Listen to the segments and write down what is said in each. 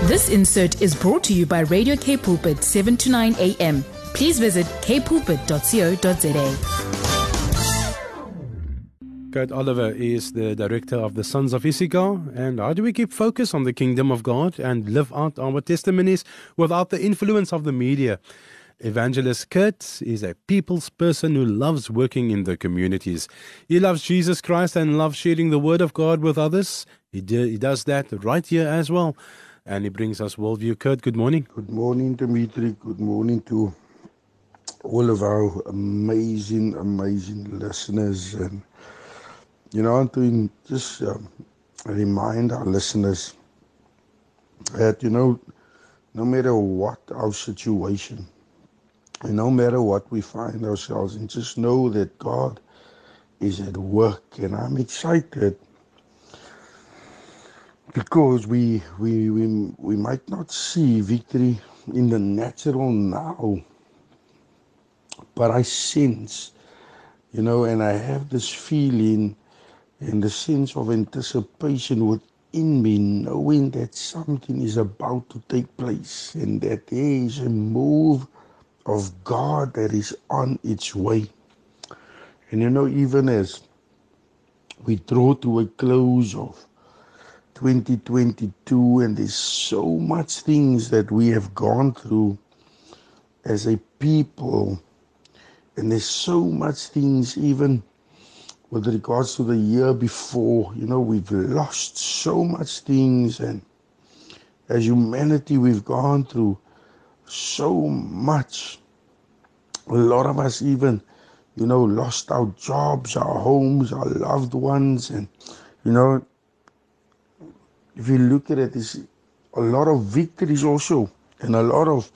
This insert is brought to you by Radio K Pulpit 7 to 9 a.m. Please visit kpulpit.co.za. Kurt Oliver is the director of the Sons of Issachar. And how do we keep focus on the kingdom of God and live out our testimonies without the influence of the media? Evangelist Kurt is a people's person who loves working in the communities. He loves Jesus Christ and loves sharing the word of God with others. He does that right here as well. And he brings us Worldview. Kurt, good morning. Good morning, Dimitri. Good morning to all of our amazing listeners. And, I'm to just remind our listeners that, no matter what our situation, and no matter what we find ourselves in, just know that God is at work. And I'm excited because we might not see victory in the natural now, but I sense, and I have this feeling and the sense of anticipation within me, knowing that something is about to take place and that there is a move of God that is on its way. And even as we draw to a close of 2022, and there's so much things that we have gone through as a people, and there's so much things even with regards to the year before, we've lost so much things, and as humanity we've gone through so much. A lot of us even, lost our jobs, our homes, our loved ones, and, if you look at it, there's a lot of victories also, and a lot of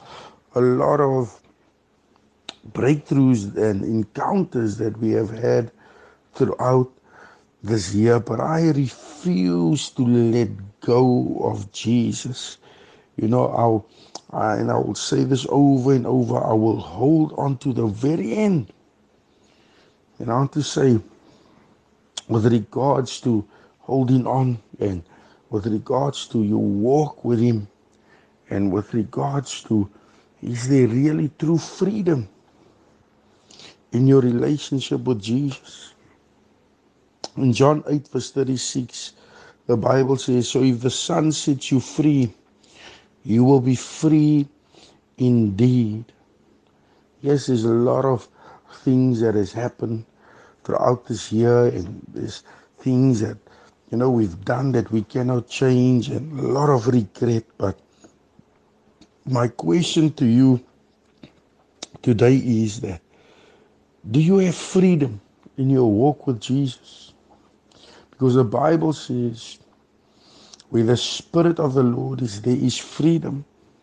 breakthroughs and encounters that we have had throughout this year. But I refuse to let go of Jesus. And I will say this over and over, I will hold on to the very end. And I want to say, with regards to holding on, and with regards to your walk with Him, and with regards to, is there really true freedom in your relationship with Jesus? In John 8 verse 36, the Bible says, so if the Son sets you free, you will be free indeed. Yes, there's a lot of things that has happened throughout this year, and there's things that, we've done that we cannot change, and a lot of regret. But my question to you today is that, do you have freedom in your walk with Jesus? Because the Bible says, where the Spirit of the Lord is, there is freedom.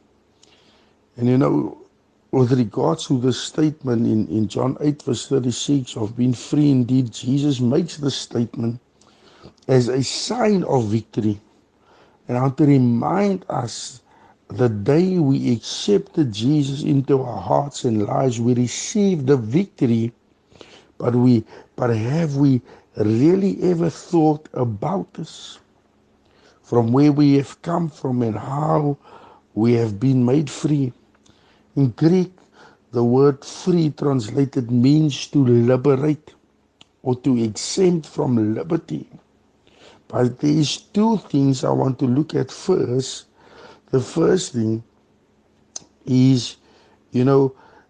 And with regards to the statement in John 8 verse 36 of being free indeed, Jesus makes the statement as a sign of victory. And I want to remind us, the day we accepted Jesus into our hearts and lives, we received the victory. But have we really ever thought about this? From where we have come from and how we have been made free. In Greek, the word free translated means to liberate or to exempt from liberty. But there is two things I want to look at first. The first thing is, there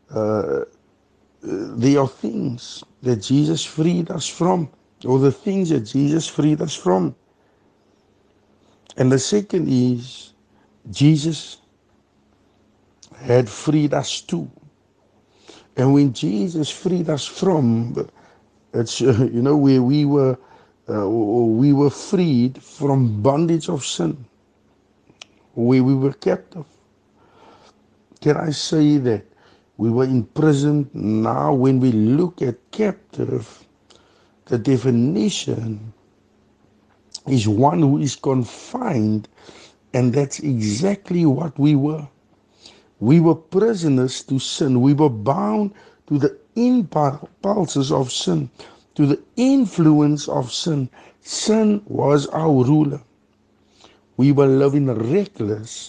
are things that Jesus freed us from, or the things that Jesus freed us from. And the second is, Jesus had freed us too. And when Jesus freed us from, it's, where we were freed from bondage of sin, where we were captive. Can I say that we were imprisoned? Now when we look at captive, the definition is one who is confined, and that's exactly what we were. We were prisoners to sin. We were bound to the impulses of sin, to the influence of sin. Sin was our ruler. We were living reckless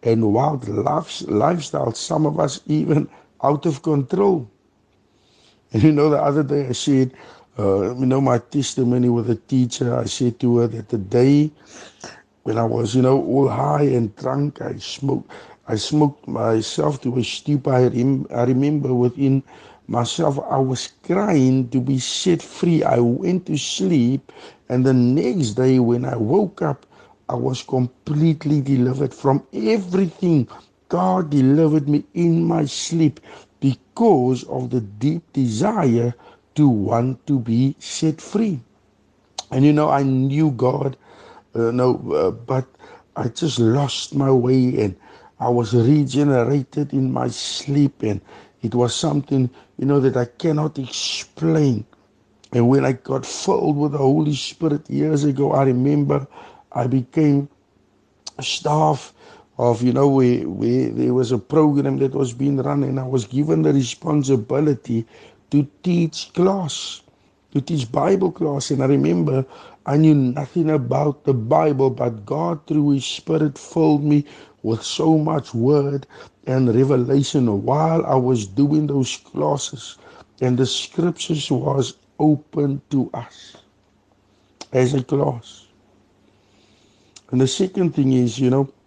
and wild lifestyle, some of us even out of control. And the other day I said, my testimony with a teacher, I said to her that the day when I was, all high and drunk, I smoked myself to a stupor. I remember within myself, I was crying to be set free. I went to sleep, and the next day when I woke up, I was completely delivered from everything. God delivered me in my sleep because of the deep desire to want to be set free. And I knew God, but I just lost my way, and I was regenerated in my sleep, and it was something, that I cannot explain. And when I got filled with the Holy Spirit years ago, I remember I became staff of, where there was a program that was being run, and I was given the responsibility to teach Bible class. And I remember I knew nothing about the Bible, but God through His Spirit filled me with so much word and revelation while I was doing those classes. And the scriptures was open to us as a class. And the second thing is,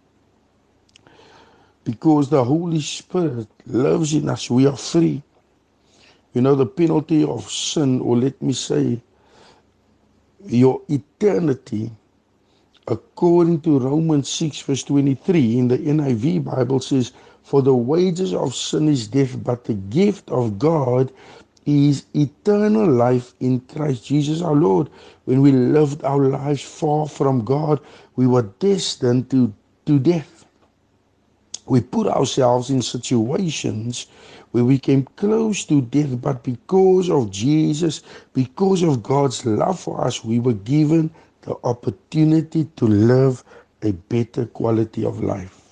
because the Holy Spirit lives in us, we are free. The penalty of sin, or let me say, your eternity, according to Romans 6 verse 23 in the NIV Bible says, for the wages of sin is death, but the gift of God is eternal life in Christ Jesus our Lord. When we lived our lives far from God, we were destined to death. We put ourselves in situations where we came close to death, but because of Jesus, because of God's love for us, we were given the opportunity to live a better quality of life.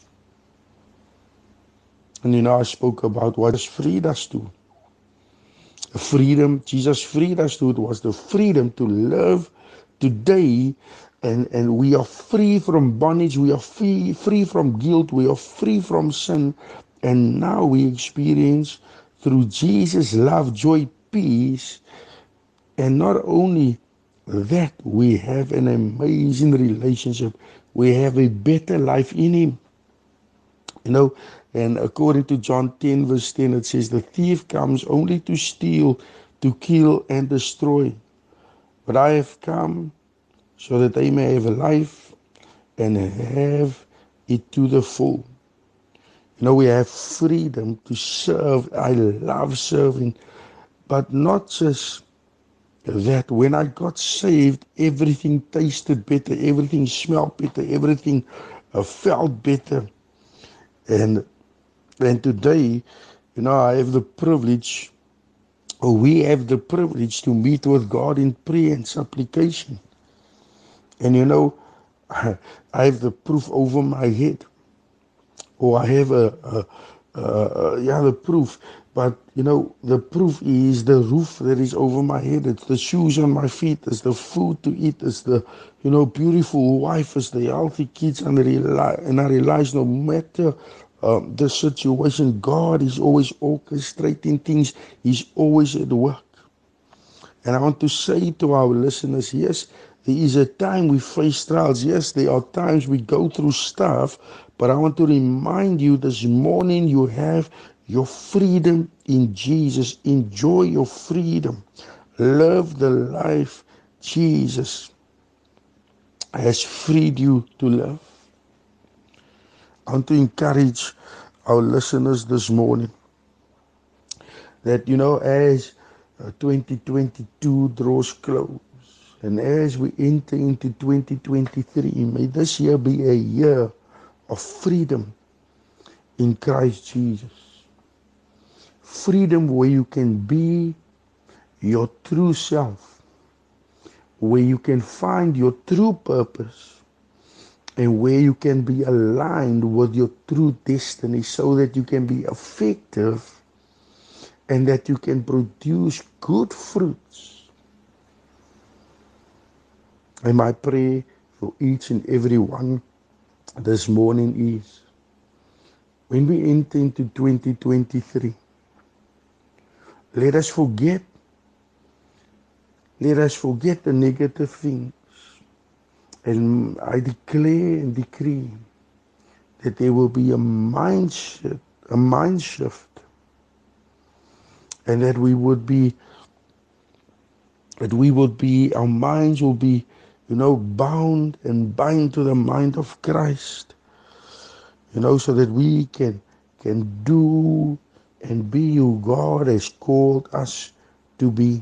And I spoke about what Jesus freed us to. Freedom, Jesus freed us to, it was the freedom to live today, and we are free from bondage, we are free from guilt, we are free from sin, and now we experience through Jesus love, joy, peace, and not only that, we have an amazing relationship, we have a better life in Him. And according to John 10 verse 10, it says, the thief comes only to steal, to kill, and destroy. But I have come so that they may have a life and have it to the full. We have freedom to serve. I love serving. But not just that. When I got saved, everything tasted better, everything smelled better, everything felt better. And today, I have the privilege, or we have the privilege to meet with God in prayer and supplication. And I have the proof over my head, or I have the proof. But the proof is the roof that is over my head. It's the shoes on my feet. It's the food to eat. It's the beautiful wife. It's the healthy kids. And I realize no matter the situation, God is always orchestrating things. He's always at work. And I want to say to our listeners, yes, there is a time we face trials. Yes, there are times we go through stuff. But I want to remind you this morning, you have your freedom in Jesus. Enjoy your freedom. Live the life Jesus has freed you to live. I want to encourage our listeners this morning that, as 2022 draws close, and as we enter into 2023, may this year be a year of freedom in Christ Jesus. Freedom where you can be your true self, where you can find your true purpose, and where you can be aligned with your true destiny so that you can be effective and that you can produce good fruits. And my prayer for each and every one this morning is when we enter into 2023, let us forget the negative things. And I declare and decree that there will be a mind shift, and that our minds will be, bound and bind to the mind of Christ, so that we can do and be who God has called us to be.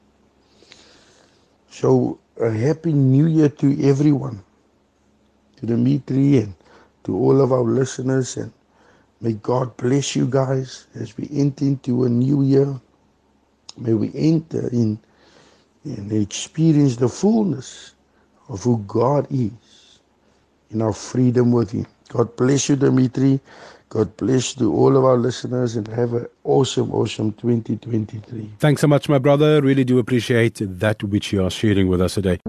So a happy new year to everyone, to Dimitri and to all of our listeners, and may God bless you guys as we enter into a new year. May we enter in and experience the fullness of who God is in our freedom with Him. God bless you, Dimitri. God bless to all of our listeners, and have an awesome 2023. Thanks so much, my brother. Really do appreciate that which you are sharing with us today.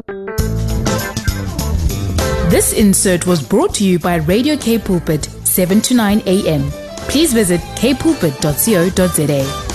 This insert was brought to you by Radio K Pulpit, 7 to 9 a.m. Please visit kpulpit.co.za.